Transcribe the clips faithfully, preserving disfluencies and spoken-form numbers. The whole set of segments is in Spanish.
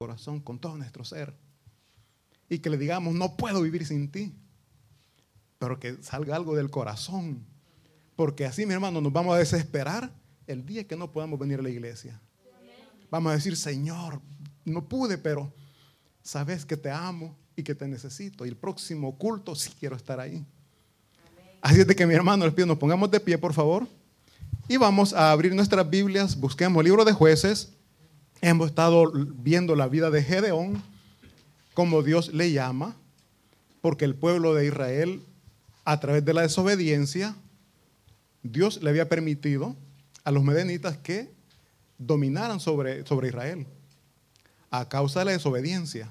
corazón, con todo nuestro ser. Y que le digamos, no puedo vivir sin ti. Pero que salga algo del corazón. Porque así, mi hermano, nos vamos a desesperar el día que no podamos venir a la iglesia. Vamos a decir, Señor, no pude, pero sabes que te amo y que te necesito. Y el próximo culto sí quiero estar ahí. Así es de que, mi hermano, les pido, nos pongamos de pie, por favor. Y vamos a abrir nuestras Biblias. Busquemos el libro de Jueces. Hemos estado viendo la vida de Gedeón, como Dios le llama, porque el pueblo de Israel, a través de la desobediencia, Dios le había permitido a los medenitas que dominaran sobre, sobre Israel, a causa de la desobediencia.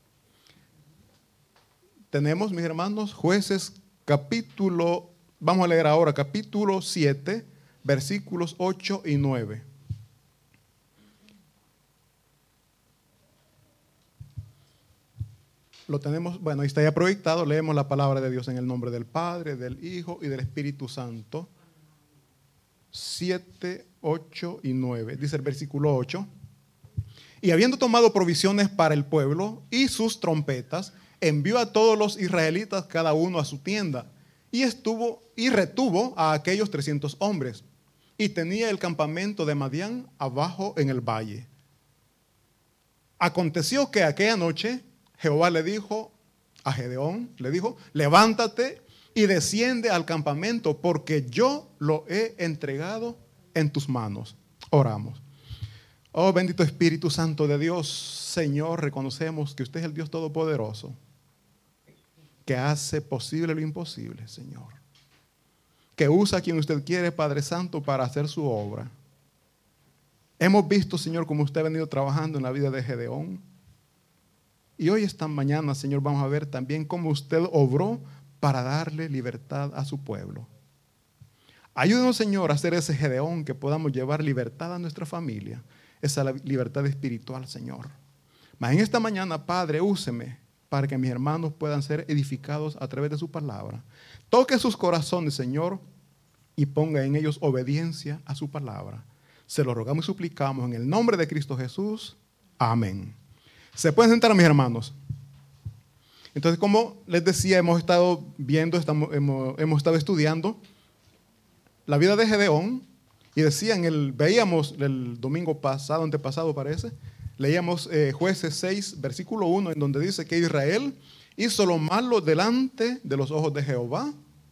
Tenemos, mis hermanos, Jueces capítulo, vamos a leer ahora, capítulo siete, versículos ocho y nueve. Lo tenemos, bueno, ahí está ya proyectado. Leemos la palabra de Dios en el nombre del Padre, del Hijo y del Espíritu Santo. siete, ocho y nueve. Dice el versículo ocho. Y habiendo tomado provisiones para el pueblo y sus trompetas, envió a todos los israelitas cada uno a su tienda y estuvo y retuvo a aquellos trescientos hombres. Y tenía el campamento de Madián abajo en el valle. Aconteció que aquella noche Jehová le dijo a Gedeón, le dijo, levántate y desciende al campamento, porque yo lo he entregado en tus manos. Oramos. Oh, bendito Espíritu Santo de Dios, Señor, reconocemos que usted es el Dios Todopoderoso, que hace posible lo imposible, Señor. Que usa a quien usted quiere, Padre Santo, para hacer su obra. Hemos visto, Señor, cómo usted ha venido trabajando en la vida de Gedeón. Y hoy, esta mañana, Señor, vamos a ver también cómo usted obró para darle libertad a su pueblo. Ayúdenos, Señor, a hacer ese Gedeón, que podamos llevar libertad a nuestra familia, esa libertad espiritual, Señor. Mas en esta mañana, Padre, úseme para que mis hermanos puedan ser edificados a través de su palabra. Toque sus corazones, Señor, y ponga en ellos obediencia a su palabra. Se lo rogamos y suplicamos en el nombre de Cristo Jesús. Amén. ¿Se pueden sentar, mis hermanos? Entonces, como les decía, hemos estado viendo, estamos, hemos, hemos estado estudiando la vida de Gedeón. Y decía, en el, veíamos el domingo pasado, antepasado parece, leíamos eh, Jueces seis, versículo uno, en donde dice que Israel hizo lo malo delante de los ojos de Jehová,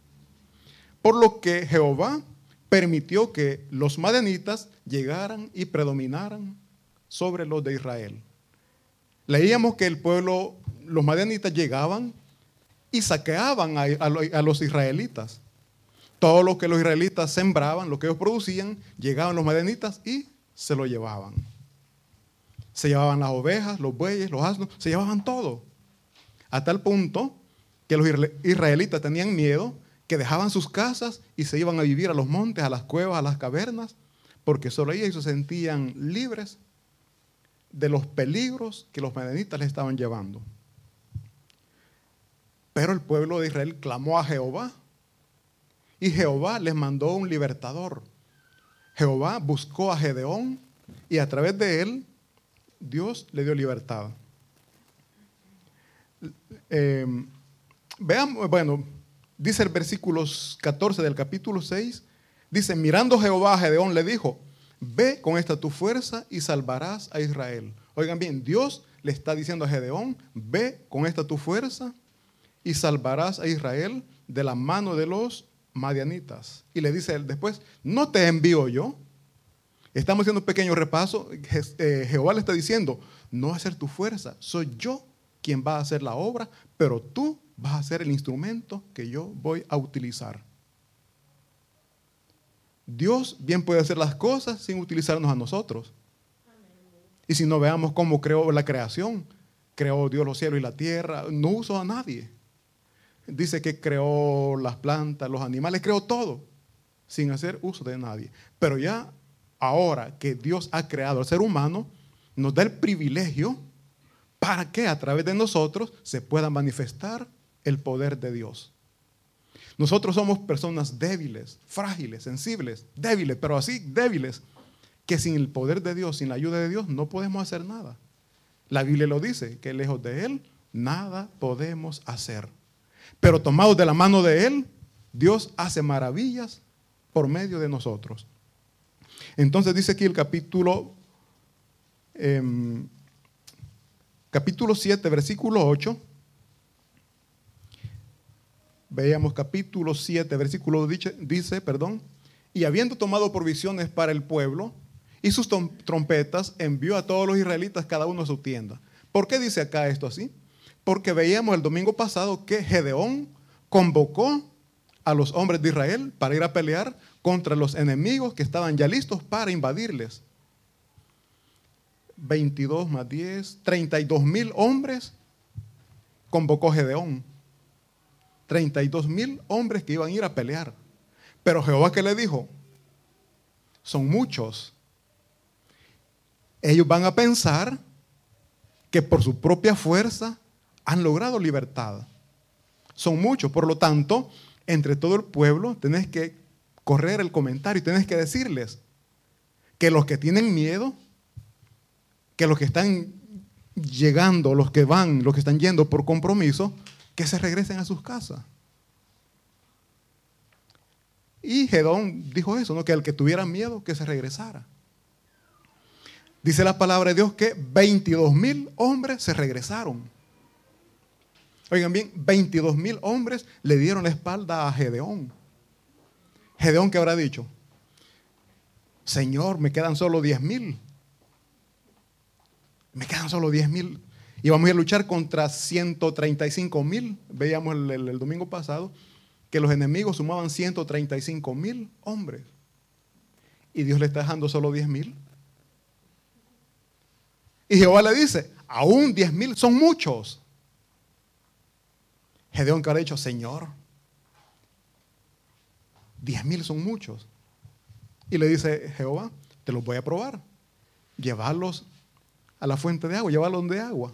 por lo que Jehová permitió que los madianitas llegaran y predominaran sobre los de Israel. Leíamos que el pueblo, los madianitas llegaban y saqueaban a, a, a los israelitas. Todo lo que los israelitas sembraban, lo que ellos producían, llegaban los madianitas y se lo llevaban. Se llevaban las ovejas, los bueyes, los asnos, se llevaban todo. A tal punto que los israelitas tenían miedo, que dejaban sus casas y se iban a vivir a los montes, a las cuevas, a las cavernas, porque solo ellos se sentían libres de los peligros que los madianitas les estaban llevando. Pero el pueblo de Israel clamó a Jehová y Jehová les mandó un libertador. Jehová buscó a Gedeón y a través de él Dios le dio libertad. Eh, veamos, bueno, dice el versículo catorce del capítulo seis, dice, mirando Jehová a Gedeón le dijo, ve con esta tu fuerza y salvarás a Israel. Oigan bien, Dios le está diciendo a Gedeón, ve con esta tu fuerza y salvarás a Israel de la mano de los madianitas. Y le dice él después, ¿no te envío yo? Estamos haciendo un pequeño repaso. Je- Jehová le está diciendo, no va a ser tu fuerza, soy yo quien va a hacer la obra, pero tú vas a ser el instrumento que yo voy a utilizar. Dios bien puede hacer las cosas sin utilizarnos a nosotros. Y si no, veamos cómo creó la creación. Creó Dios los cielos y la tierra, no usó a nadie. Dice que creó las plantas, los animales, creó todo sin hacer uso de nadie. Pero ya ahora que Dios ha creado al ser humano, nos da el privilegio para que a través de nosotros se pueda manifestar el poder de Dios. Nosotros somos personas débiles, frágiles, sensibles, débiles, pero así débiles, que sin el poder de Dios, sin la ayuda de Dios, no podemos hacer nada. La Biblia lo dice, que lejos de Él nada podemos hacer. Pero tomados de la mano de Él, Dios hace maravillas por medio de nosotros. Entonces dice aquí el capítulo, eh, capítulo siete, versículo ocho. Veamos capítulo siete, versículo dice, dice, perdón, y habiendo tomado provisiones para el pueblo y sus trompetas, envió a todos los israelitas cada uno a su tienda. ¿Por qué dice acá esto así? Porque veíamos el domingo pasado que Gedeón convocó a los hombres de Israel para ir a pelear contra los enemigos que estaban ya listos para invadirles. veintidós más diez, treinta y dos mil hombres convocó Gedeón. treinta y dos mil hombres que iban a ir a pelear. Pero Jehová, ¿qué le dijo? Son muchos. Ellos van a pensar que por su propia fuerza han logrado libertad. Son muchos, por lo tanto, entre todo el pueblo tenés que correr el comentario y tenés que decirles que los que tienen miedo, que los que están llegando, los que van, los que están yendo por compromiso, que se regresen a sus casas. Y Gedeón dijo eso, ¿no? Que el que tuviera miedo, que se regresara. Dice la palabra de Dios que veintidós mil hombres se regresaron. Oigan bien, veintidós mil hombres le dieron la espalda a Gedeón. Gedeón, ¿qué habrá dicho? Señor, me quedan solo diez mil. Me quedan solo diez mil. Y vamos a luchar contra ciento treinta y cinco mil. Veíamos el, el, el domingo pasado que los enemigos sumaban ciento treinta y cinco mil hombres. Y Dios le está dejando solo diez mil. Y Jehová le dice, aún diez mil son muchos. Gedeón, que habrá dicho, Señor, diez mil son muchos. Y le dice Jehová, te los voy a probar. Llevarlos a la fuente de agua, llevarlos de agua.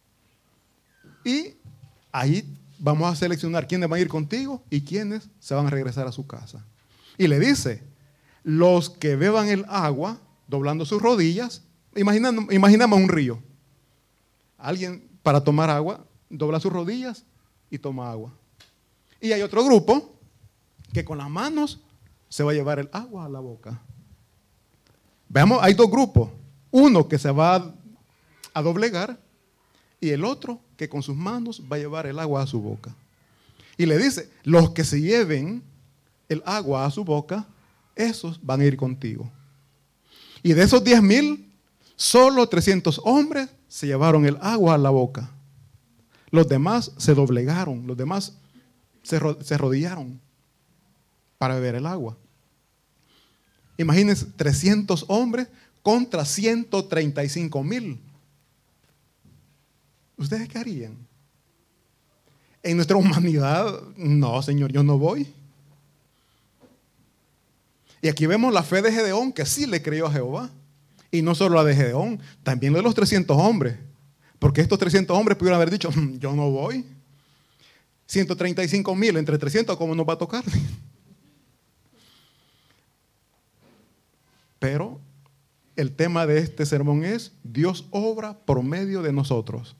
Y ahí vamos a seleccionar quiénes van a ir contigo y quiénes se van a regresar a su casa. Y le dice, los que beban el agua, doblando sus rodillas, imaginando, imaginamos un río. Alguien para tomar agua, dobla sus rodillas y toma agua. Y hay otro grupo que con las manos se va a llevar el agua a la boca. Veamos, hay dos grupos. Uno que se va a, a doblegar y el otro que con sus manos va a llevar el agua a su boca. Y le dice, los que se lleven el agua a su boca, esos van a ir contigo. Y de esos diez mil, solo trescientos hombres se llevaron el agua a la boca. Los demás se doblegaron, los demás se, se arrodillaron para beber el agua. Imagínense, trescientos hombres contra ciento treinta y cinco mil. ¿Ustedes qué harían? En nuestra humanidad, no, Señor, yo no voy. Y aquí vemos la fe de Gedeón, que sí le creyó a Jehová. Y no solo la de Gedeón, también la de los trescientos hombres. Porque estos trescientos hombres pudieron haber dicho, yo no voy. ciento treinta y cinco mil entre trescientos, ¿cómo nos va a tocar? Pero el tema de este sermón es, Dios obra por medio de nosotros.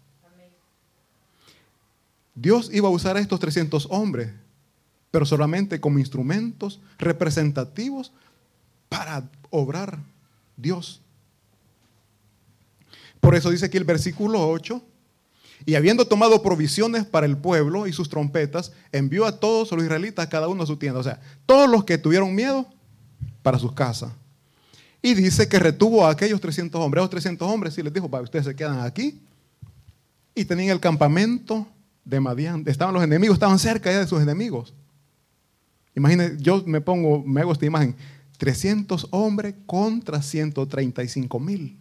Dios iba a usar a estos trescientos hombres, pero solamente como instrumentos representativos para obrar Dios. Por eso dice aquí el versículo ocho, y habiendo tomado provisiones para el pueblo y sus trompetas, envió a todos los israelitas, cada uno a su tienda. O sea, todos los que tuvieron miedo, para sus casas. Y dice que retuvo a aquellos trescientos hombres. A los trescientos hombres, y les dijo, ustedes se quedan aquí. Y tenían el campamento de Madián. Estaban los enemigos, estaban cerca ya de sus enemigos. Imagínense, yo me pongo, me hago esta imagen, trescientos hombres contra ciento treinta y cinco mil.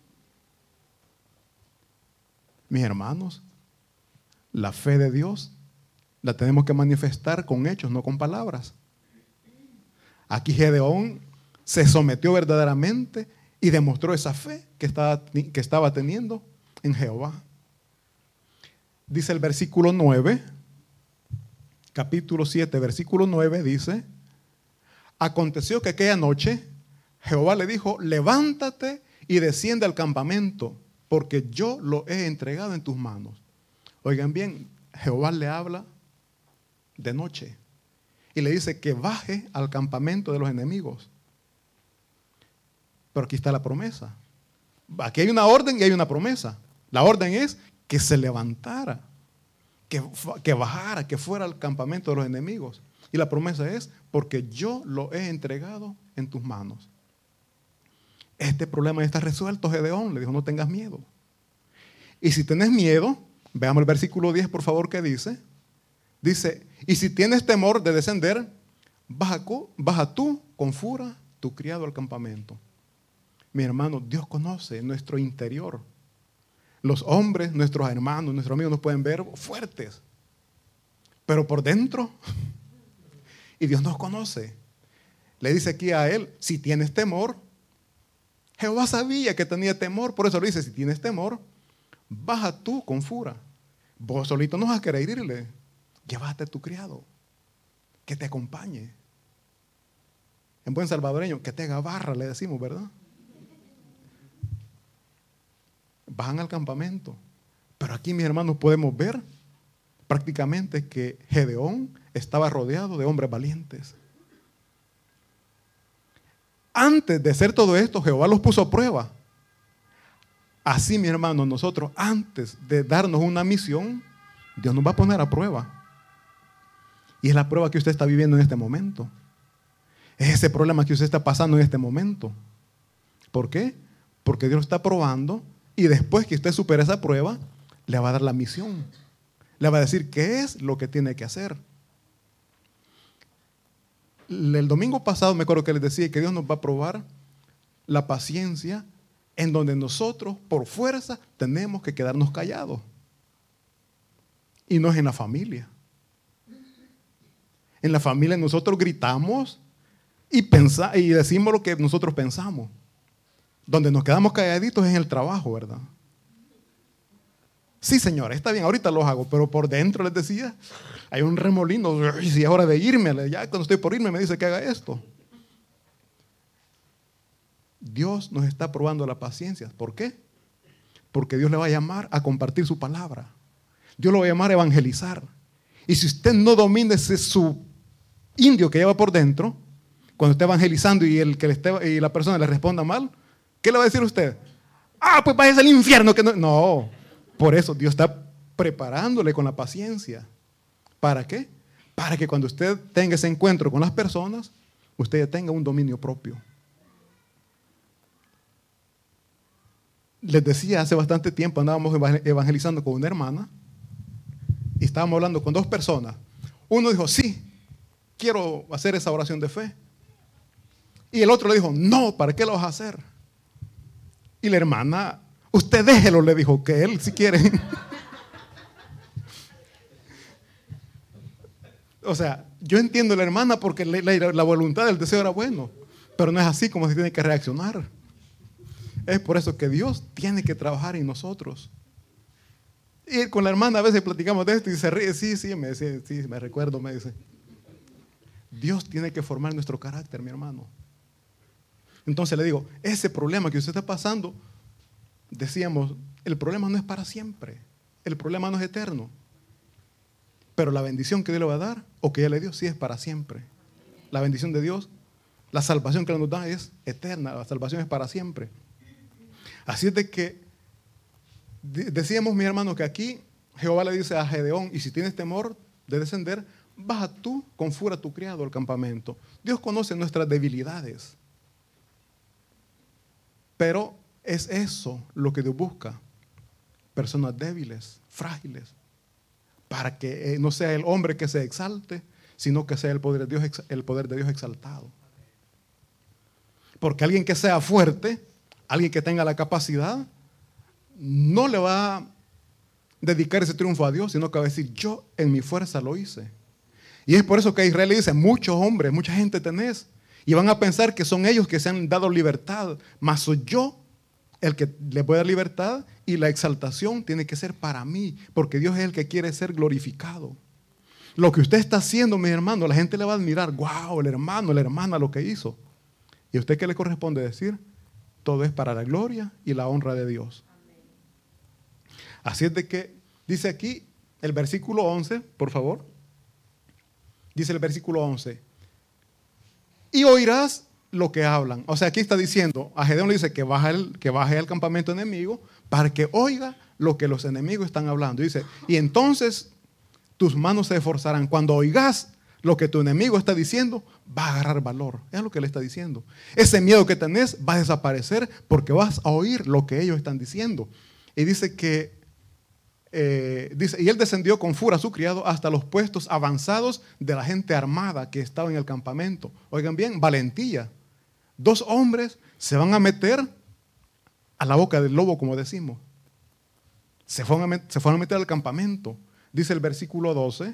Mis hermanos, la fe de Dios la tenemos que manifestar con hechos, no con palabras. Aquí Gedeón se sometió verdaderamente y demostró esa fe que estaba, que estaba teniendo en Jehová. Dice el versículo nueve, capítulo siete, versículo nueve, dice, aconteció que aquella noche Jehová le dijo, levántate y desciende al campamento porque yo lo he entregado en tus manos. Oigan bien, Jehová le habla de noche y le dice que baje al campamento de los enemigos. Pero aquí está la promesa. Aquí hay una orden y hay una promesa. La orden es que se levantara, que, que bajara, que fuera al campamento de los enemigos. Y la promesa es, porque yo lo he entregado en tus manos. Este problema ya está resuelto, Gedeón. Le dijo, no tengas miedo. Y si tienes miedo, veamos el versículo diez, por favor, que dice. Dice, y si tienes temor de descender, baja, baja tú con fura tu criado al campamento. Mi hermano, Dios conoce nuestro interior. Los hombres, nuestros hermanos, nuestros amigos nos pueden ver fuertes, pero por dentro, y Dios nos conoce. Le dice aquí a él, si tienes temor, Jehová sabía que tenía temor, por eso le dice, si tienes temor, baja tú con fura. Vos solito no vas a querer irle, llévate a tu criado, que te acompañe. En buen salvadoreño, que te haga barra, le decimos, ¿verdad? Bajan al campamento. Pero aquí, mis hermanos, podemos ver prácticamente que Gedeón estaba rodeado de hombres valientes. Antes de hacer todo esto, Jehová los puso a prueba. Así, mi hermano, nosotros antes de darnos una misión, Dios nos va a poner a prueba. Y es la prueba que usted está viviendo en este momento. Es ese problema que usted está pasando en este momento. ¿Por qué? Porque Dios está probando y después que usted supere esa prueba, le va a dar la misión. Le va a decir qué es lo que tiene que hacer. El domingo pasado me acuerdo que les decía que Dios nos va a probar la paciencia en donde nosotros por fuerza tenemos que quedarnos callados. Y no es en la familia. En la familia nosotros gritamos y, pensa, y decimos lo que nosotros pensamos. Donde nos quedamos calladitos es en el trabajo, ¿verdad? Sí, señora, está bien, ahorita los hago, pero por dentro les decía, hay un remolino, y si es hora de irme, ya cuando estoy por irme me dice que haga esto. Dios nos está probando la paciencia. ¿Por qué? Porque Dios le va a llamar a compartir su palabra. Dios lo va a llamar a evangelizar. Y si usted no domina ese su indio que lleva por dentro, cuando esté evangelizando y, el que le esté, y la persona le responda mal, ¿qué le va a decir usted? Ah, pues váyase al infierno. Que no. no, por eso Dios está preparándole con la paciencia. ¿Para qué? Para que cuando usted tenga ese encuentro con las personas, usted ya tenga un dominio propio. Les decía, hace bastante tiempo andábamos evangelizando con una hermana y estábamos hablando con dos personas. Uno dijo, sí, quiero hacer esa oración de fe. Y el otro le dijo, no, ¿para qué lo vas a hacer? Y la hermana, usted déjelo, le dijo, que él si quiere. O sea, yo entiendo a la hermana porque la, la, la voluntad del deseo era bueno, pero no es así como se tiene que reaccionar. Es por eso que Dios tiene que trabajar en nosotros. Y con la hermana a veces platicamos de esto y se ríe, sí, sí, me dice, sí, me recuerdo, me dice. Dios tiene que formar nuestro carácter, mi hermano. Entonces le digo, ese problema que usted está pasando, decíamos, el problema no es para siempre, el problema no es eterno. Pero la bendición que Dios le va a dar, o que ya le dio, sí es para siempre. La bendición de Dios, la salvación que nos da es eterna, la salvación es para siempre. Así es de que, decíamos, mi hermano, que aquí Jehová le dice a Gedeón, y si tienes temor de descender, baja tú con fura a tu criado al campamento. Dios conoce nuestras debilidades. Pero es eso lo que Dios busca. Personas débiles, frágiles. Para que no sea el hombre que se exalte, sino que sea el poder de Dios, el poder de Dios exaltado. Porque alguien que sea fuerte, alguien que tenga la capacidad, no le va a dedicar ese triunfo a Dios, sino que va a decir, yo en mi fuerza lo hice. Y es por eso que a Israel le dice, muchos hombres, mucha gente tenés, y van a pensar que son ellos que se han dado libertad, mas soy yo el que les voy a dar libertad, y la exaltación tiene que ser para mí, porque Dios es el que quiere ser glorificado. Lo que usted está haciendo, mi hermano, la gente le va a admirar, wow, el hermano, la hermana, lo que hizo. ¿Y a usted qué le corresponde decir? Todo es para la gloria y la honra de Dios. Así es de que, dice aquí el versículo once, por favor. Dice el versículo once. Y oirás lo que hablan. O sea, aquí está diciendo, a Gedeón le dice que baje, el, que baje al campamento enemigo para que oiga lo que los enemigos están hablando. Dice, y entonces tus manos se esforzarán. Cuando oigas lo que tu enemigo está diciendo, va a agarrar valor. Es lo que le está diciendo. Ese miedo que tenés va a desaparecer porque vas a oír lo que ellos están diciendo. Y dice que, eh, dice, y él descendió con furia a su criado hasta los puestos avanzados de la gente armada que estaba en el campamento. Oigan bien, valentía. Dos hombres se van a meter a la boca del lobo, como decimos. Se fueron a, met- se fueron a meter al campamento. Dice el versículo doce.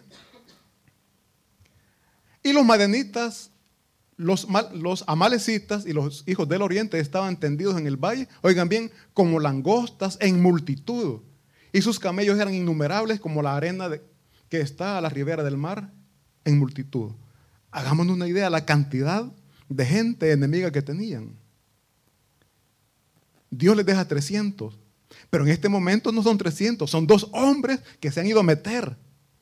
Y los madianitas, los, los amalecitas y los hijos del oriente estaban tendidos en el valle, oigan bien, como langostas en multitud. Y sus camellos eran innumerables como la arena de, que está a la ribera del mar en multitud. Hagámonos una idea de la cantidad de gente enemiga que tenían. Dios les deja trescientos, pero en este momento no son trescientos, son dos hombres que se han ido a meter.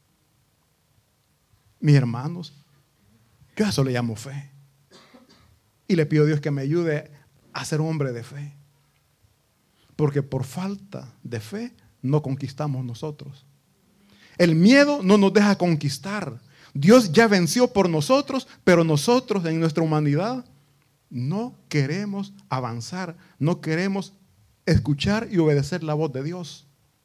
Mis hermanos, yo a eso le llamo fe. Y le pido a Dios que me ayude a ser un hombre de fe. Porque por falta de fe no conquistamos nosotros. El miedo no nos deja conquistar. Dios ya venció por nosotros, pero nosotros en nuestra humanidad no queremos avanzar, no queremos escuchar y obedecer la voz de Dios.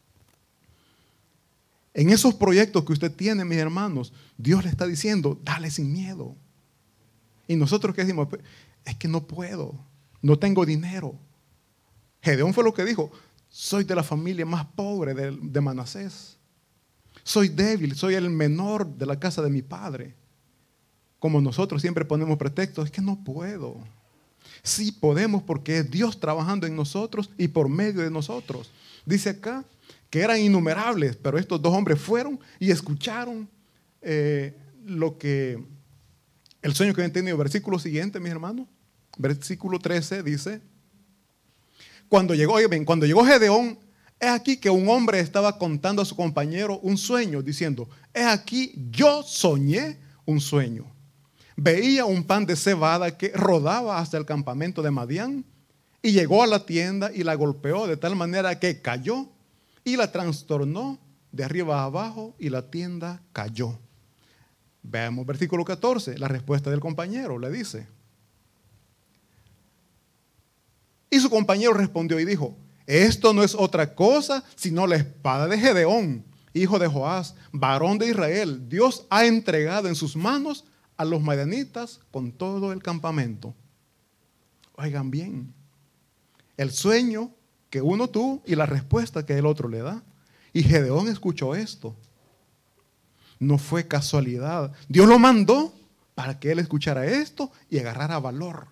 En esos proyectos que usted tiene, mis hermanos, Dios le está diciendo, dale sin miedo. Y nosotros, ¿qué decimos? Es que no puedo, no tengo dinero. Gedeón fue lo que dijo, soy de la familia más pobre de, de Manasés. Soy débil, soy el menor de la casa de mi padre. Como nosotros siempre ponemos pretextos, es que no puedo. Sí podemos porque es Dios trabajando en nosotros y por medio de nosotros. Dice acá que eran innumerables, pero estos dos hombres fueron y escucharon eh, lo que, el sueño que habían tenido. Versículo siguiente, mis hermanos. Versículo trece dice, cuando llegó, oye bien, cuando llegó Gedeón, es aquí que un hombre estaba contando a su compañero un sueño, diciendo, es aquí yo soñé un sueño. Veía un pan de cebada que rodaba hasta el campamento de Madián y llegó a la tienda y la golpeó de tal manera que cayó y la trastornó de arriba a abajo y la tienda cayó. Veamos versículo catorce, la respuesta del compañero, le dice. Y su compañero respondió y dijo, esto no es otra cosa sino la espada de Gedeón, hijo de Joás, varón de Israel. Dios ha entregado en sus manos a los madianitas con todo el campamento. Oigan bien, el sueño que uno tuvo y la respuesta que el otro le da. Y Gedeón escuchó esto. No fue casualidad. Dios lo mandó para que él escuchara esto y agarrara valor.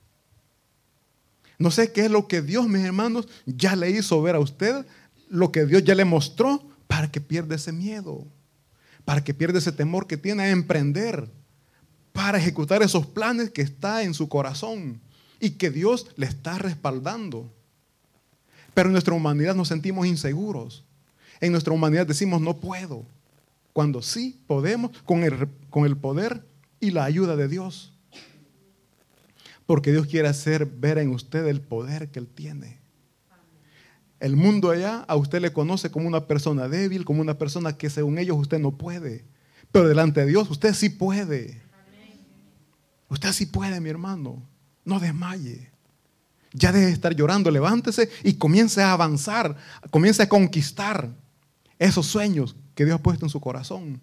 No sé qué es lo que Dios, mis hermanos, ya le hizo ver a usted, lo que Dios ya le mostró para que pierda ese miedo, para que pierda ese temor que tiene a emprender, para ejecutar esos planes que está en su corazón y que Dios le está respaldando. Pero en nuestra humanidad nos sentimos inseguros. En nuestra humanidad decimos no puedo, cuando sí podemos con el, con el poder y la ayuda de Dios. Porque Dios quiere hacer ver en usted el poder que Él tiene. El mundo allá a usted le conoce como una persona débil, como una persona que según ellos usted no puede. Pero delante de Dios usted sí puede. Usted sí puede, mi hermano. No desmaye. Ya deje de estar llorando, levántese y comience a avanzar, comience a conquistar esos sueños que Dios ha puesto en su corazón.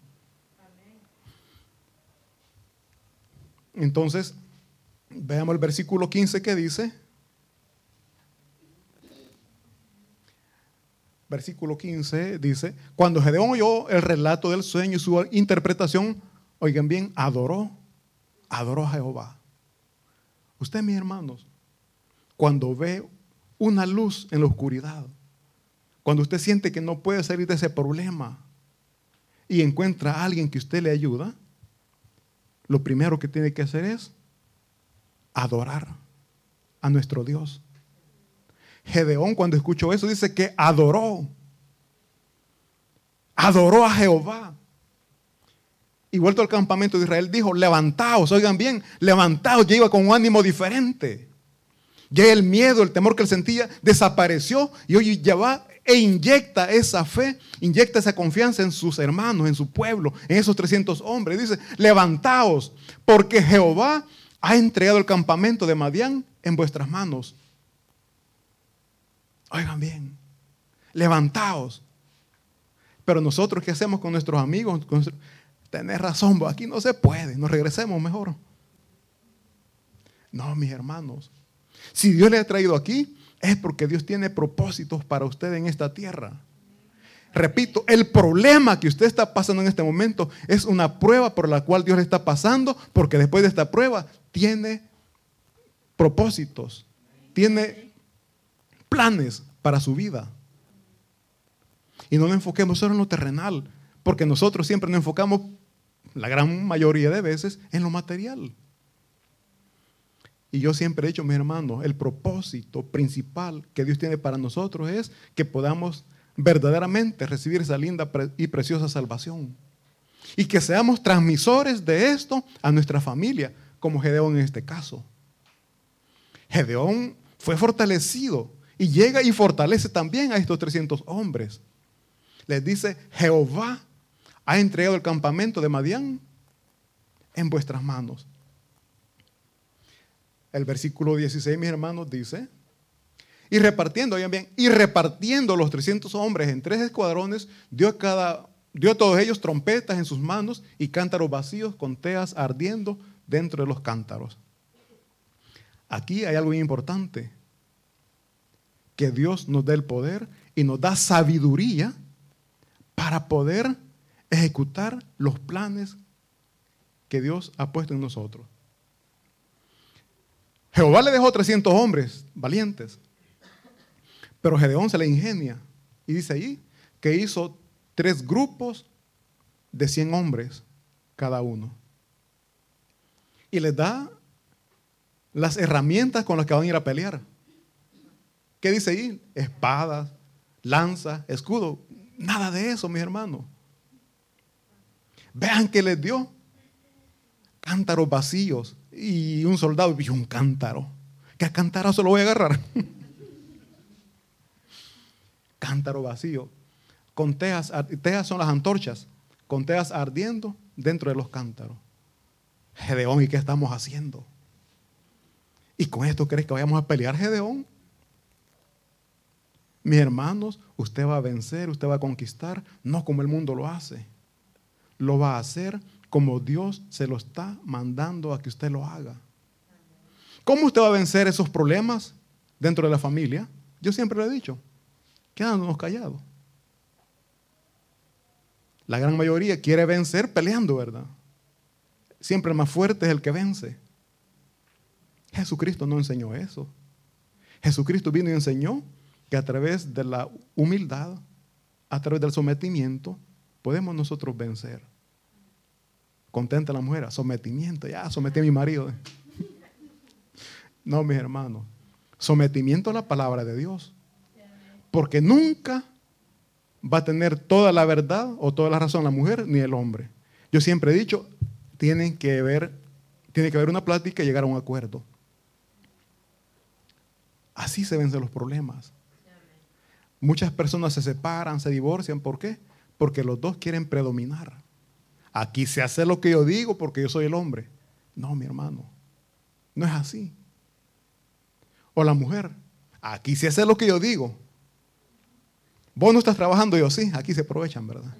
Entonces, veamos el versículo quince que dice. Versículo quince dice, cuando Gedeón oyó el relato del sueño y su interpretación, oigan bien, adoró, adoró a Jehová. Usted, mis hermanos, cuando ve una luz en la oscuridad, cuando usted siente que no puede salir de ese problema y encuentra a alguien que usted le ayuda, lo primero que tiene que hacer es adorar a nuestro Dios. Gedeón, cuando escuchó eso, dice que adoró. adoró a Jehová. Y vuelto al campamento de Israel, dijo, levantaos, oigan bien, levantaos, ya iba con un ánimo diferente. Ya el miedo, el temor que él sentía, desapareció y hoy ya va e inyecta esa fe, inyecta esa confianza en sus hermanos, en su pueblo, en esos trescientos hombres. Dice, levantaos, porque Jehová ha entregado el campamento de Madián en vuestras manos. Oigan bien, levantaos. Pero nosotros, ¿qué hacemos con nuestros amigos? Con nuestro... Tenés razón, aquí no se puede, nos regresemos mejor. No, mis hermanos, si Dios le ha traído aquí, es porque Dios tiene propósitos para usted en esta tierra. Repito, el problema que usted está pasando en este momento es una prueba por la cual Dios le está pasando, porque después de esta prueba tiene propósitos, tiene planes para su vida. Y no nos enfoquemos solo en lo terrenal, porque nosotros siempre nos enfocamos, la gran mayoría de veces, en lo material. Y yo siempre he dicho, mis hermanos, el propósito principal que Dios tiene para nosotros es que podamos verdaderamente recibir esa linda y preciosa salvación. Y que seamos transmisores de esto a nuestra familia, como Gedeón en este caso. Gedeón fue fortalecido y llega y fortalece también a estos trescientos hombres. Les dice, Jehová ha entregado el campamento de Madián en vuestras manos. El versículo dieciséis, mis hermanos, dice, y repartiendo, oigan bien, y repartiendo los trescientos hombres en tres escuadrones, dio a, cada, dio a todos ellos trompetas en sus manos y cántaros vacíos con teas ardiendo dentro de los cántaros. Aquí hay algo muy importante, que Dios nos dé el poder y nos da sabiduría para poder ejecutar los planes que Dios ha puesto en nosotros. Jehová le dejó trescientos hombres valientes, pero Gedeón se le ingenia y dice ahí que hizo tres grupos de cien hombres cada uno y les da las herramientas con las que van a ir a pelear. ¿Qué dice ahí? Espadas, lanzas, escudo. Nada de eso, mis hermanos. Vean que les dio cántaros vacíos. Y un soldado vio un cántaro. ¿Qué cántaro se lo voy a agarrar? Cántaro vacío. Con teas, teas son las antorchas, con teas ardiendo dentro de los cántaros. Gedeón, ¿y qué estamos haciendo? ¿Y con esto crees que vayamos a pelear, Gedeón? Mis hermanos, usted va a vencer, usted va a conquistar, no como el mundo lo hace. Lo va a hacer como Dios se lo está mandando a que usted lo haga. ¿Cómo usted va a vencer esos problemas dentro de la familia? Yo siempre lo he dicho, quedándonos callados. La gran mayoría quiere vencer peleando, ¿verdad? Siempre el más fuerte es el que vence. Jesucristo no enseñó eso. Jesucristo vino y enseñó que a través de la humildad, a través del sometimiento, podemos nosotros vencer. Contenta la mujer, sometimiento, ya sometí a mi marido. No, mis hermanos, sometimiento a la palabra de Dios. Porque nunca va a tener toda la verdad o toda la razón la mujer ni el hombre. Yo siempre he dicho, tienen que ver, tiene que haber una plática y llegar a un acuerdo. Así se vencen los problemas. Muchas personas se separan, se divorcian. ¿Por qué? Porque los dos quieren predominar. Aquí se hace lo que yo digo porque yo soy el hombre. No, mi hermano, no es así. O la mujer, aquí se hace lo que yo digo. Vos no estás trabajando, yo sí, aquí se aprovechan, ¿verdad?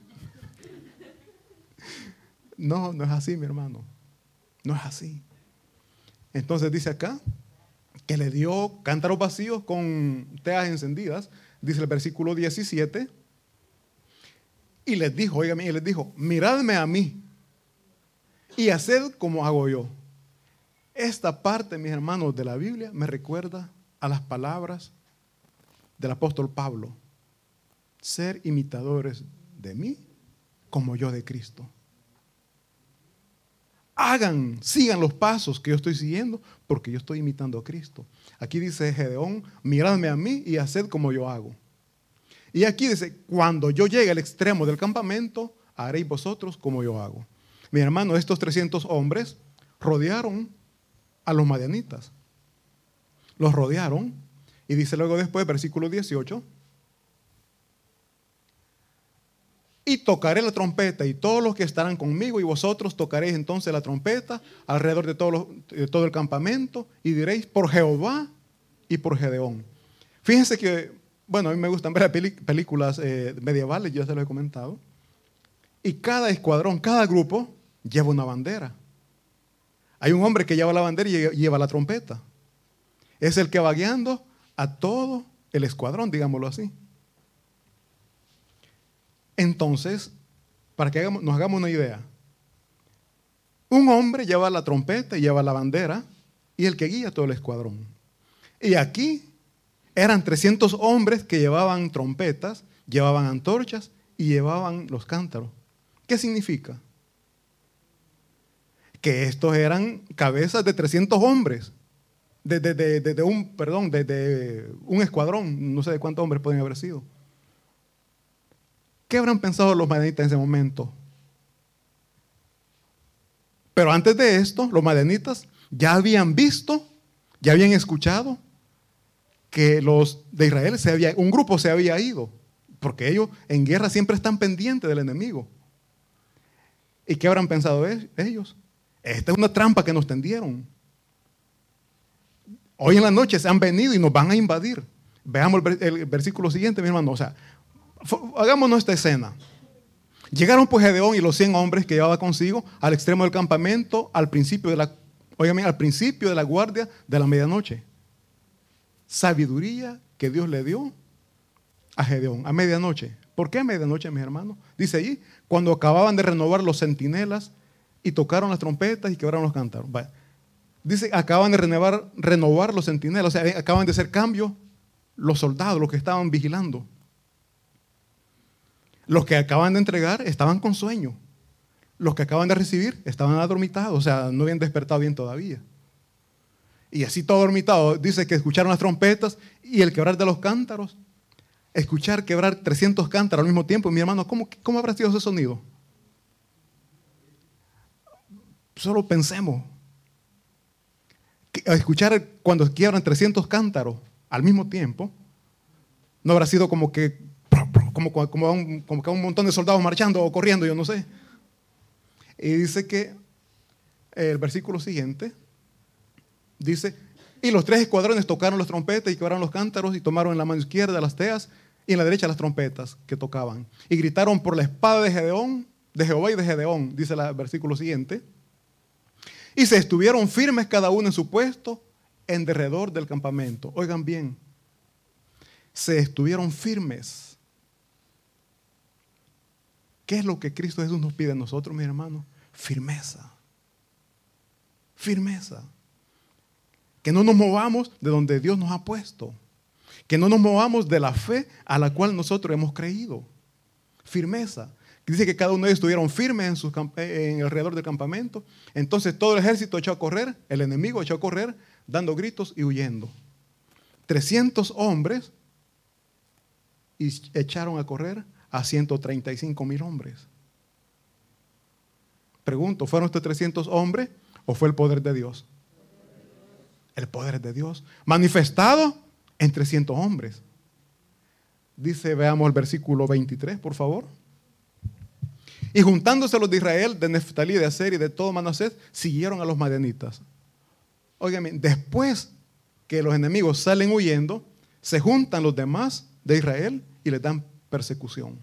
No, no es así, mi hermano. No es así. Entonces dice acá que le dio cántaros vacíos con teas encendidas. Dice el versículo diecisiete. Y les dijo, oigan, y les dijo, miradme a mí y haced como hago yo. Esta parte, mis hermanos, de la Biblia me recuerda a las palabras del apóstol Pablo. Ser imitadores de mí como yo de Cristo. Hagan, sigan los pasos que yo estoy siguiendo porque yo estoy imitando a Cristo. Aquí dice Gedeón, miradme a mí y haced como yo hago. Y aquí dice, cuando yo llegue al extremo del campamento, haréis vosotros como yo hago. Mi hermano, estos trescientos hombres rodearon a los madianitas. Los rodearon y dice luego después, versículo dieciocho, y tocaré la trompeta y todos los que estarán conmigo y vosotros tocaréis entonces la trompeta alrededor de todo, los, de todo el campamento y diréis por Jehová y por Gedeón. Fíjense que, bueno, a mí me gustan ver películas eh, medievales, yo ya se lo he comentado, y cada escuadrón, cada grupo lleva una bandera. Hay un hombre que lleva la bandera y lleva la trompeta. Es el que va guiando a todo el escuadrón, digámoslo así. Entonces, para que hagamos, nos hagamos una idea, un hombre lleva la trompeta y lleva la bandera y el que guía todo el escuadrón. Y aquí eran trescientos hombres que llevaban trompetas, llevaban antorchas y llevaban los cántaros. ¿Qué significa? Que estos eran cabezas de trescientos hombres, de, de, de, de, de un, perdón, de, de un escuadrón, no sé de cuántos hombres pueden haber sido. ¿Qué habrán pensado los madianitas en ese momento? Pero antes de esto, los madianitas ya habían visto, ya habían escuchado que los de Israel, se había, un grupo se había ido, porque ellos en guerra siempre están pendientes del enemigo. ¿Y qué habrán pensado ellos? Esta es una trampa que nos tendieron. Hoy en la noche se han venido y nos van a invadir. Veamos el, el versículo siguiente, mi hermano. O sea, hagámonos esta escena. Llegaron pues Gedeón y los cien hombres que llevaba consigo al extremo del campamento al principio de la, óigame, al principio de la guardia de la medianoche. Sabiduría que Dios le dio a Gedeón a medianoche. ¿Por qué a medianoche, mis hermanos? Dice ahí, cuando acababan de renovar los centinelas y tocaron las trompetas y quebraron los cántaros. Vaya. Dice, acaban de renovar, renovar los centinelas, o sea, acaban de hacer cambio los soldados, los que estaban vigilando. Los que acaban de entregar estaban con sueño. Los que acaban de recibir estaban adormitados, o sea, no habían despertado bien todavía. Y así todo adormitado, dice que escucharon las trompetas y el quebrar de los cántaros. Escuchar quebrar trescientos cántaros al mismo tiempo, mi hermano, ¿cómo, cómo habrá sido ese sonido? Solo pensemos. Escuchar cuando quiebran trescientos cántaros al mismo tiempo, no habrá sido como que como, como, como, un, como que un montón de soldados marchando o corriendo, yo no sé. Y dice que el versículo siguiente dice, y los tres escuadrones tocaron las trompetas y quebraron los cántaros y tomaron en la mano izquierda las teas y en la derecha las trompetas que tocaban. Y gritaron por la espada de Gedeón, de Jehová y de Gedeón, dice el versículo siguiente. Y se estuvieron firmes cada uno en su puesto en derredor del campamento. Oigan bien, se estuvieron firmes. ¿Qué es lo que Cristo Jesús nos pide a nosotros, mis hermanos? Firmeza. Firmeza. Que no nos movamos de donde Dios nos ha puesto. Que no nos movamos de la fe a la cual nosotros hemos creído. Firmeza. Dice que cada uno de ellos estuvieron firmes en, sus, en alrededor del campamento. Entonces todo el ejército echó a correr, el enemigo echó a correr, dando gritos y huyendo. trescientos hombres y echaron a correr a ciento treinta y cinco mil hombres. Pregunto, ¿fueron estos trescientos hombres o fue el poder de Dios? El poder de Dios manifestado en trescientos hombres. Dice, veamos el versículo veintitrés, por favor. Y juntándose los de Israel, de Neftalí, de Aser y de todo Manasés, siguieron a los madianitas. Óigame, después que los enemigos salen huyendo, se juntan los demás de Israel y les dan persecución.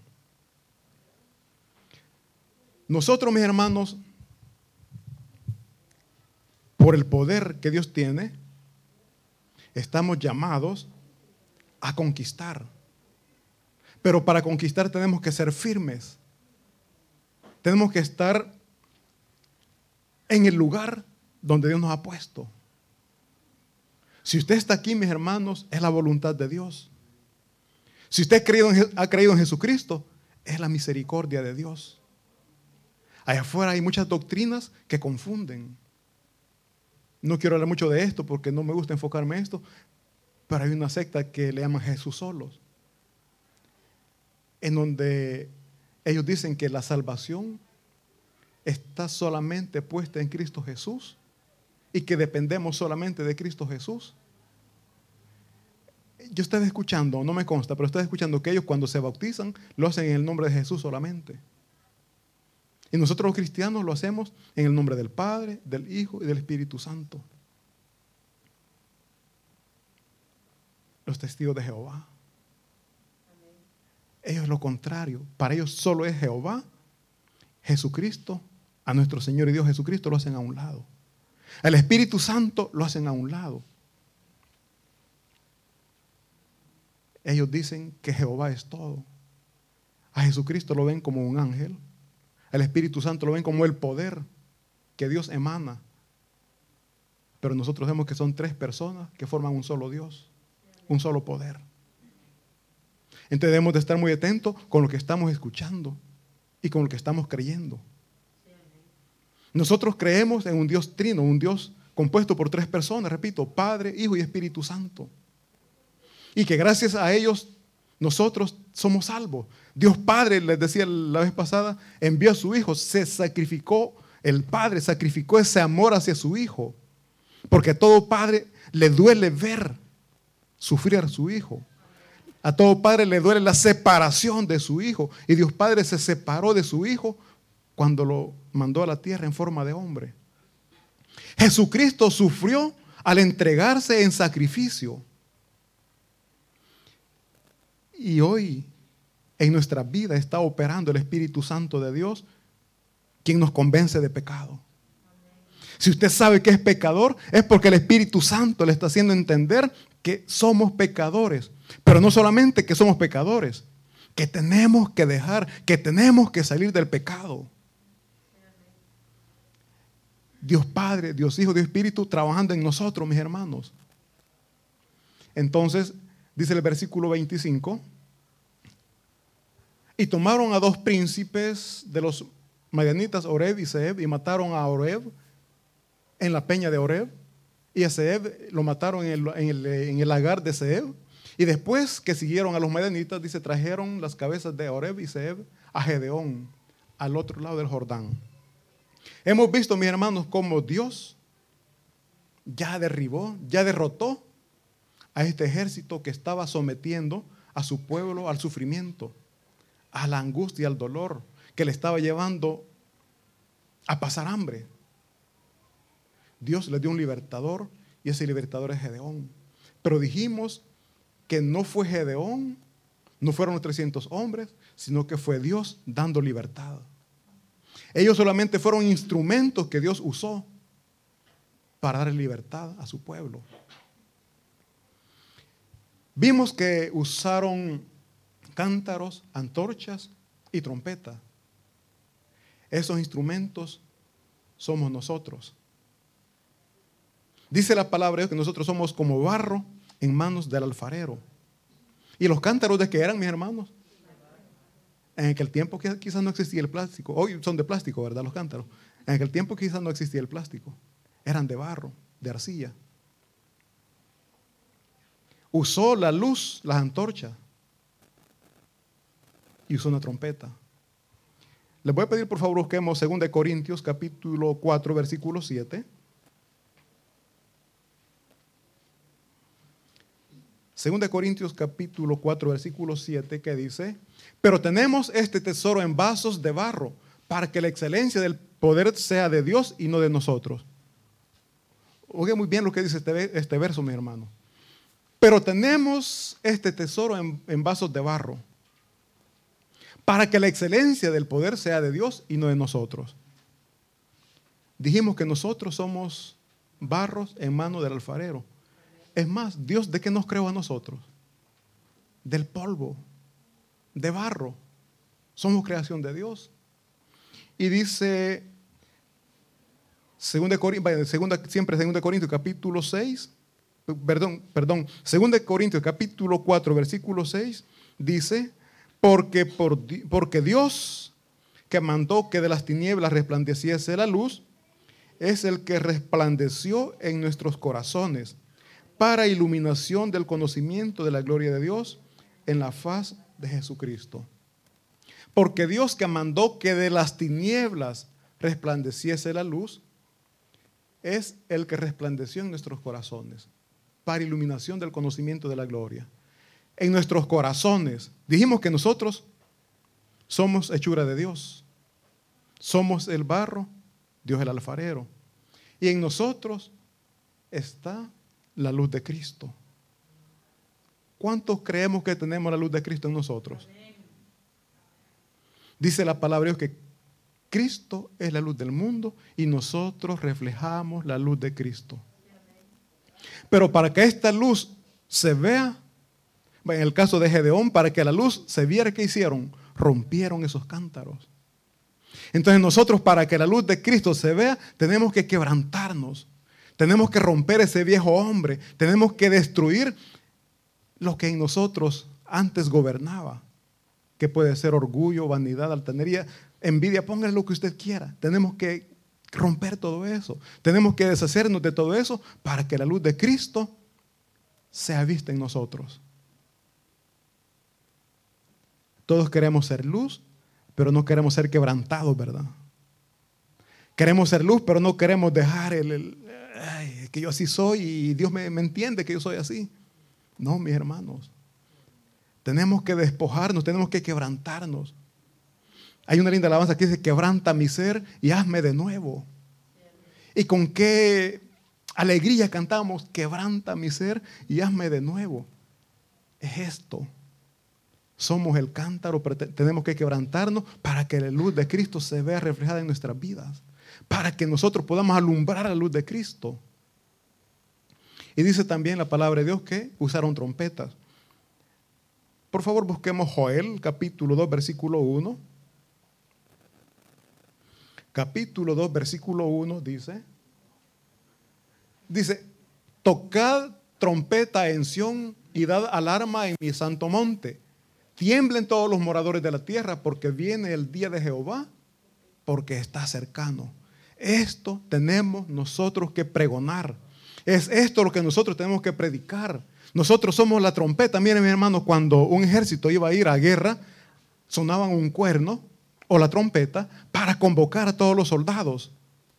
Nosotros, mis hermanos, por el poder que Dios tiene, estamos llamados a conquistar. Pero para conquistar tenemos que ser firmes. Tenemos que estar en el lugar donde Dios nos ha puesto. Si usted está aquí, mis hermanos, es la voluntad de Dios. Si usted ha creído en, ha creído en Jesucristo, es la misericordia de Dios. Allá afuera hay muchas doctrinas que confunden. No quiero hablar mucho de esto porque no me gusta enfocarme en esto, pero hay una secta que le llaman Jesús solos. en donde ellos dicen que la salvación está solamente puesta en Cristo Jesús y que dependemos solamente de Cristo Jesús. Yo estoy escuchando, no me consta, pero estoy escuchando que ellos cuando se bautizan lo hacen en el nombre de Jesús solamente. Y nosotros los cristianos lo hacemos en el nombre del Padre, del Hijo y del Espíritu Santo. Los testigos de Jehová. Ellos lo contrario. Para ellos solo es Jehová, Jesucristo, a nuestro Señor y Dios Jesucristo lo hacen a un lado. Al Espíritu Santo lo hacen a un lado. Ellos dicen que Jehová es todo. A Jesucristo lo ven como un ángel. Al Espíritu Santo lo ven como el poder que Dios emana. Pero nosotros vemos que son tres personas que forman un solo Dios, un solo poder. Entonces debemos de estar muy atentos con lo que estamos escuchando y con lo que estamos creyendo. Nosotros creemos en un Dios trino, un Dios compuesto por tres personas, repito, Padre, Hijo y Espíritu Santo. Y que gracias a ellos nosotros somos salvos. Dios Padre, les decía la vez pasada, envió a su Hijo, se sacrificó, el Padre sacrificó ese amor hacia su Hijo. Porque a todo padre le duele ver sufrir a su Hijo. A todo padre le duele la separación de su Hijo. Y Dios Padre se separó de su Hijo cuando lo mandó a la tierra en forma de hombre. Jesucristo sufrió al entregarse en sacrificio. Y hoy en nuestra vida está operando el Espíritu Santo de Dios, quien nos convence de pecado. Si usted sabe que es pecador, es porque el Espíritu Santo le está haciendo entender que somos pecadores. Pero no solamente que somos pecadores, que tenemos que dejar, que tenemos que salir del pecado. Dios Padre, Dios Hijo, Dios Espíritu trabajando en nosotros, mis hermanos. Entonces, dice el versículo veinticinco, y tomaron a dos príncipes de los madianitas, Oreb y Zeeb, y mataron a Oreb en la peña de Oreb, y a Zeeb lo mataron en el, en el, en el lagar de Zeeb. Y después que siguieron a los madianitas, dice, trajeron las cabezas de Oreb y Zeeb a Gedeón, al otro lado del Jordán. Hemos visto, mis hermanos, cómo Dios ya derribó, ya derrotó a este ejército que estaba sometiendo a su pueblo al sufrimiento, a la angustia, al dolor, que le estaba llevando a pasar hambre. Dios le dio un libertador y ese libertador es Gedeón. Pero dijimos que no fue Gedeón, no fueron los trescientos hombres, sino que fue Dios dando libertad. Ellos solamente fueron instrumentos que Dios usó para dar libertad a su pueblo. Vimos que usaron cántaros, antorchas y trompetas. Esos instrumentos somos nosotros. Dice la palabra de Dios que nosotros somos como barro en manos del alfarero. ¿Y los cántaros de qué eran, mis hermanos? En aquel tiempo quizás no existía el plástico. Hoy son de plástico, ¿verdad? Los cántaros. En aquel tiempo quizás no existía el plástico. Eran de barro, de arcilla. Usó la luz, las antorchas. Y usó una trompeta. Les voy a pedir por favor busquemos segunda de Corintios capítulo cuatro versículo siete. segunda de Corintios capítulo cuatro versículo siete, que dice: pero tenemos este tesoro en vasos de barro, para que la excelencia del poder sea de Dios y no de nosotros. Oiga muy bien lo que dice este, este verso, mi hermano. Pero tenemos este tesoro en, en vasos de barro, para que la excelencia del poder sea de Dios y no de nosotros. Dijimos que nosotros somos barros en mano del alfarero. Es más, Dios, ¿de qué nos creó a nosotros? Del polvo, de barro. Somos creación de Dios. Y dice, segunda, segunda, siempre segunda de Corintios capítulo seis, perdón, perdón, segunda de Corintios capítulo cuatro versículo seis, dice: porque, por, porque Dios, que mandó que de las tinieblas resplandeciese la luz, es el que resplandeció en nuestros corazones para iluminación del conocimiento de la gloria de Dios en la faz de Jesucristo. Porque Dios, que mandó que de las tinieblas resplandeciese la luz, es el que resplandeció en nuestros corazones para iluminación del conocimiento de la gloria. En nuestros corazones, dijimos que nosotros somos hechura de Dios. Somos el barro, Dios el alfarero. Y en nosotros está la luz de Cristo. ¿Cuántos creemos que tenemos la luz de Cristo en nosotros? Dice la palabra de Dios que Cristo es la luz del mundo y nosotros reflejamos la luz de Cristo. Pero para que esta luz se vea, en el caso de Gedeón, para que la luz se viera, ¿qué hicieron? Rompieron esos cántaros. Entonces nosotros, para que la luz de Cristo se vea, tenemos que quebrantarnos. Tenemos que romper ese viejo hombre. Tenemos que destruir lo que en nosotros antes gobernaba. Que puede ser orgullo, vanidad, altanería, envidia, póngale lo que usted quiera. Tenemos que romper todo eso. Tenemos que deshacernos de todo eso para que la luz de Cristo sea vista en nosotros. Todos queremos ser luz, pero no queremos ser quebrantados, ¿verdad? Queremos ser luz, pero no queremos dejar el, el ay, que yo así soy y Dios me, me entiende que yo soy así. No, mis hermanos. Tenemos que despojarnos, tenemos que quebrantarnos. Hay una linda alabanza que dice: quebranta mi ser y hazme de nuevo. Y con qué alegría cantamos: quebranta mi ser y hazme de nuevo. Es esto. Somos el cántaro, pero tenemos que quebrantarnos para que la luz de Cristo se vea reflejada en nuestras vidas. Para que nosotros podamos alumbrar la luz de Cristo. Y dice también la palabra de Dios que usaron trompetas. Por favor, busquemos Joel, capítulo dos, versículo uno. Capítulo dos, versículo uno dice, dice, tocad trompeta en Sión y dad alarma en mi santo monte. Tiemblen todos los moradores de la tierra, porque viene el día de Jehová, porque está cercano. Esto tenemos nosotros que pregonar. Es esto lo que nosotros tenemos que predicar. Nosotros somos la trompeta. Miren, mis hermanos, cuando un ejército iba a ir a guerra, sonaban un cuerno o la trompeta para convocar a todos los soldados.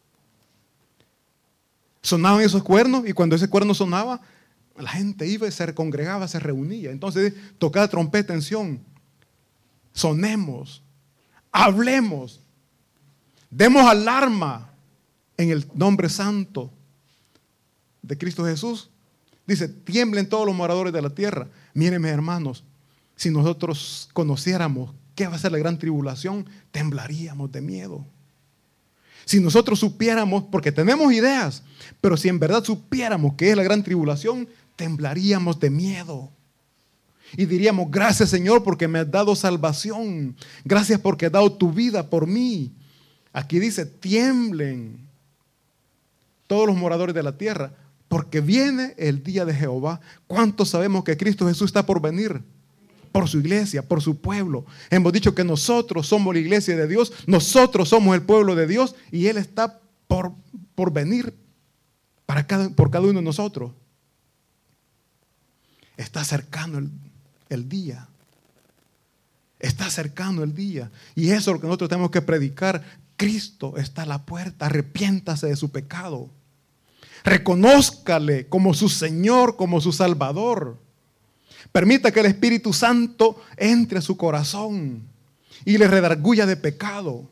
Sonaban esos cuernos y cuando ese cuerno sonaba, la gente iba y se congregaba, se reunía. Entonces, tocad trompeta en Sión. Sonemos, hablemos, demos alarma en el nombre santo de Cristo Jesús. Dice, tiemblen todos los moradores de la tierra. Miren, mis hermanos, si nosotros conociéramos qué va a ser la gran tribulación, temblaríamos de miedo. Si nosotros supiéramos, porque tenemos ideas, pero si en verdad supiéramos qué es la gran tribulación, temblaríamos de miedo. Y diríamos, gracias Señor porque me has dado salvación. Gracias porque has dado tu vida por mí. Aquí dice, tiemblen todos los moradores de la tierra, porque viene el día de Jehová. ¿Cuántos sabemos que Cristo Jesús está por venir? Por su iglesia, por su pueblo. Hemos dicho que nosotros somos la iglesia de Dios, nosotros somos el pueblo de Dios y Él está por, por venir para cada, por cada uno de nosotros. Está cercano el, el día. Está cercano el día. Y eso es lo que nosotros tenemos que predicar. Cristo está a la puerta, arrepiéntase de su pecado. Reconózcale como su Señor, como su Salvador. Permita que el Espíritu Santo entre a su corazón y le redarguya de pecado.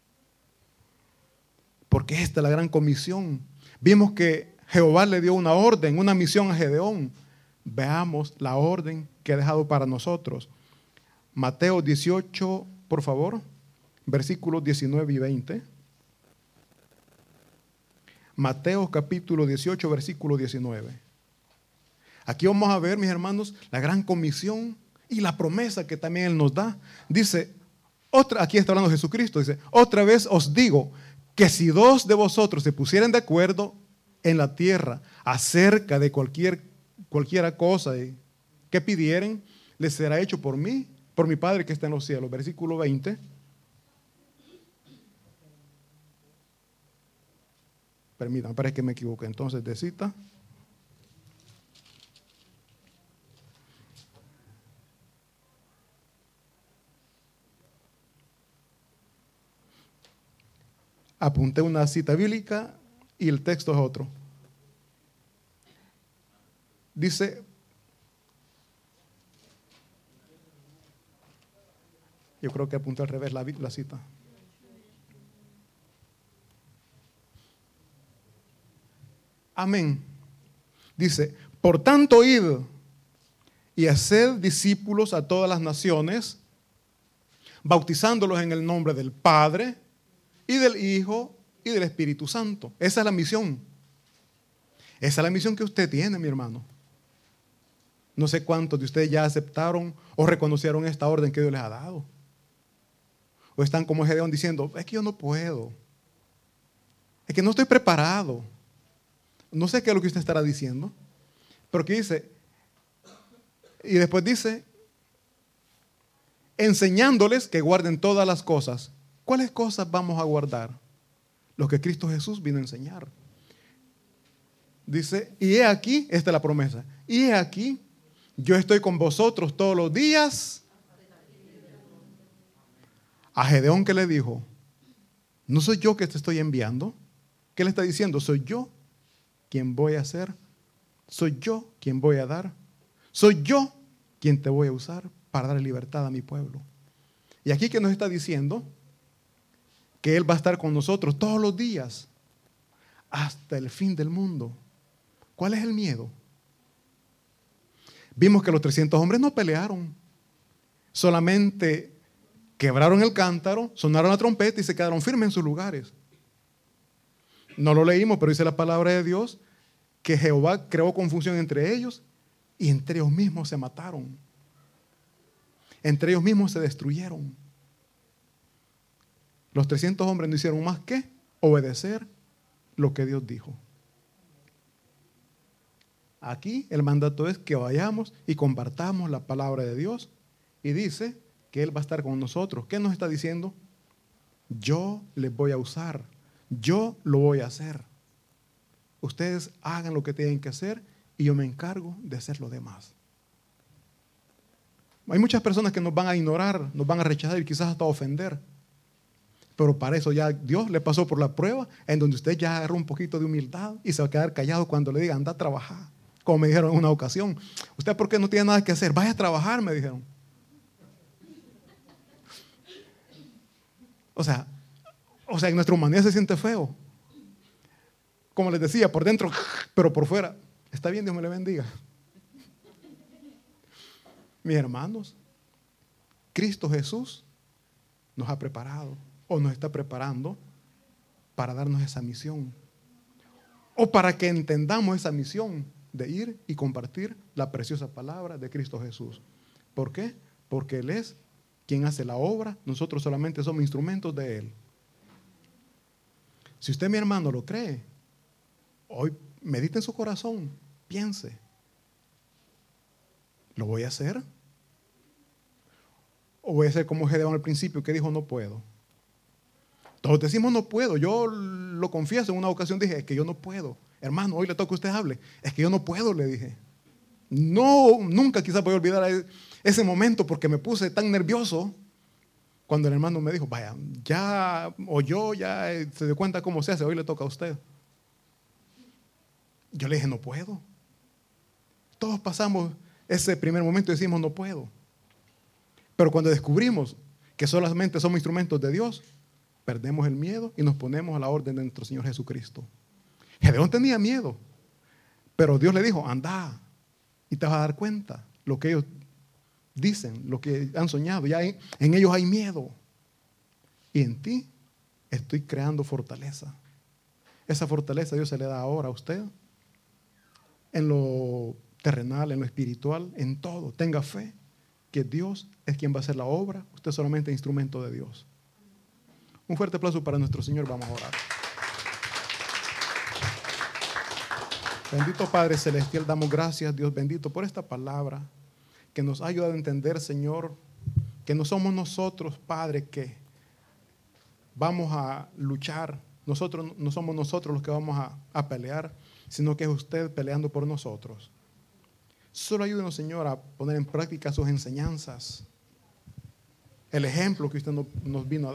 Porque esta es la gran comisión. Vimos que Jehová le dio una orden, una misión a Gedeón. Veamos la orden que ha dejado para nosotros. Mateo dieciocho, por favor, versículos diecinueve y veinte. Mateo capítulo dieciocho, versículo diecinueve. Aquí vamos a ver, mis hermanos, la gran comisión y la promesa que también Él nos da. Dice, otra, aquí está hablando Jesucristo, dice, otra vez os digo que si dos de vosotros se pusieran de acuerdo en la tierra acerca de cualquier, cualquiera cosa que pidieren, les será hecho por mí, por mi Padre que está en los cielos. Versículo veinte. Permítanme, parece que me equivoqué. Entonces, de cita. Apunté una cita bíblica y el texto es otro. Dice, yo creo que apunté al revés la, la cita. Amén. Dice, por tanto, id y haced discípulos a todas las naciones, bautizándolos en el nombre del Padre y del Hijo y del Espíritu Santo. Esa es la misión. Esa es la misión que usted tiene, mi hermano. No sé cuántos de ustedes ya aceptaron o reconocieron esta orden que Dios les ha dado. O están como Gedeón diciendo, es que yo no puedo. Es que no estoy preparado. No sé qué es lo que usted estará diciendo. Pero que dice, y después dice, enseñándoles que guarden todas las cosas. ¿Cuáles cosas vamos a guardar? Lo que Cristo Jesús vino a enseñar. Dice, y he aquí, esta es la promesa, y he aquí, yo estoy con vosotros todos los días. A Gedeón, ¿qué le dijo? ¿No soy yo que te estoy enviando? ¿Qué le está diciendo? Soy yo quien voy a hacer. Soy yo quien voy a dar. Soy yo quien te voy a usar para dar libertad a mi pueblo. Y aquí que nos está diciendo que Él va a estar con nosotros todos los días hasta el fin del mundo. ¿Cuál es el miedo? Vimos que los trescientos hombres no pelearon. Solamente quebraron el cántaro, sonaron la trompeta y se quedaron firmes en sus lugares. No lo leímos, pero dice la palabra de Dios que Jehová creó confusión entre ellos y entre ellos mismos se mataron. Entre ellos mismos se destruyeron. Los trescientos hombres no hicieron más que obedecer lo que Dios dijo. Aquí el mandato es que vayamos y compartamos la palabra de Dios y dice que Él va a estar con nosotros. ¿Qué nos está diciendo? Yo les voy a usar, yo lo voy a hacer. Ustedes hagan lo que tienen que hacer y yo me encargo de hacer lo demás. Hay muchas personas que nos van a ignorar, nos van a rechazar y quizás hasta ofender. Pero para eso ya Dios le pasó por la prueba en donde usted ya agarró un poquito de humildad y se va a quedar callado cuando le diga anda a trabajar. Como me dijeron en una ocasión, ¿usted por qué no tiene nada que hacer? Vaya a trabajar, me dijeron. O sea, o sea, en nuestra humanidad se siente feo. Como les decía, por dentro, pero por fuera. Está bien, Dios me le bendiga. Mis hermanos, Cristo Jesús nos ha preparado o nos está preparando para darnos esa misión. O para que entendamos esa misión de ir y compartir la preciosa palabra de Cristo Jesús. ¿Por qué? Porque Él es quien hace la obra, nosotros solamente somos instrumentos de Él. Si usted, mi hermano, lo cree, hoy medite en su corazón, piense, ¿lo voy a hacer? ¿O voy a hacer como Gedeón al principio que dijo no puedo? Todos decimos no puedo. Yo lo confieso, en una ocasión dije, es que yo no puedo. Hermano, hoy le toca a usted hable. Es que yo no puedo, le dije. No, nunca quizás voy a olvidar ese momento porque me puse tan nervioso cuando el hermano me dijo, vaya, ya oyó, ya se dio cuenta cómo se hace, hoy le toca a usted. Yo le dije, no puedo. Todos pasamos ese primer momento y decimos, no puedo. Pero cuando descubrimos que solamente somos instrumentos de Dios, perdemos el miedo y nos ponemos a la orden de nuestro Señor Jesucristo. Gedeón tenía miedo, pero Dios le dijo, anda y te vas a dar cuenta lo que ellos dicen, lo que han soñado. Ya en, en ellos hay miedo. Y en ti estoy creando fortaleza. Esa fortaleza Dios se le da ahora a usted. En lo terrenal, en lo espiritual, en todo. Tenga fe que Dios es quien va a hacer la obra. Usted solamente es instrumento de Dios. Un fuerte aplauso para nuestro Señor. Vamos a orar. Bendito Padre Celestial, damos gracias, Dios bendito, por esta palabra que nos ha ayudado a entender, Señor, que no somos nosotros, Padre, que vamos a luchar. Nosotros no somos nosotros los que vamos a, a pelear, sino que es usted peleando por nosotros. Solo ayúdenos, Señor, a poner en práctica sus enseñanzas, el ejemplo que usted nos, nos vino a dar.